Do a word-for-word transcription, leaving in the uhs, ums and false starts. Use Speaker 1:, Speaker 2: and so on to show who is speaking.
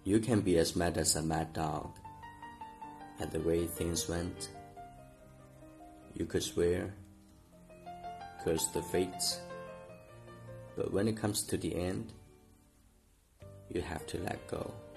Speaker 1: You can be as mad as a mad dog at the way things went. You could swear, curse the fates, but when it comes to the end, you have to let go.